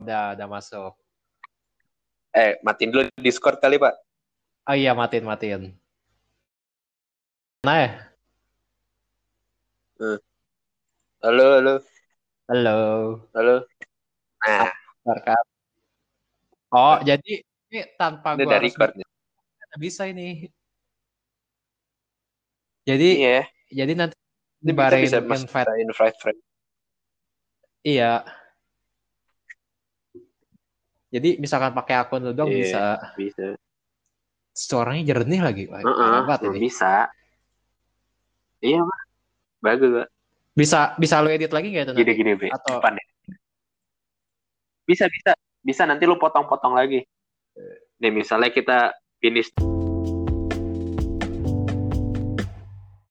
Udah masuk. Matiin dulu Discord kali, Pak. Oh iya, matiin. Nah ya, Hmm. Halo, halo, halo. halo. Apa Nah, kabar, Kak? Oh, jadi ini tanpa ini gua udah harus record nih. bisa ini. Jadi Iya, jadi nanti ini kita nyebarin bisa mas invite. invite friend. Iya. Jadi misalkan pakai akun lu doang Iya, bisa. bisa. Suaranya jernih lagi. Wah, Heeh, parah banget ini. bisa. Iya, Pak. Bagus, Pak. Bisa lu edit lagi nggak itu nanti? Gini-gini, Be. Atau Depan ya. Bisa, bisa. Bisa nanti lu potong-potong lagi. Nih, misalnya kita finish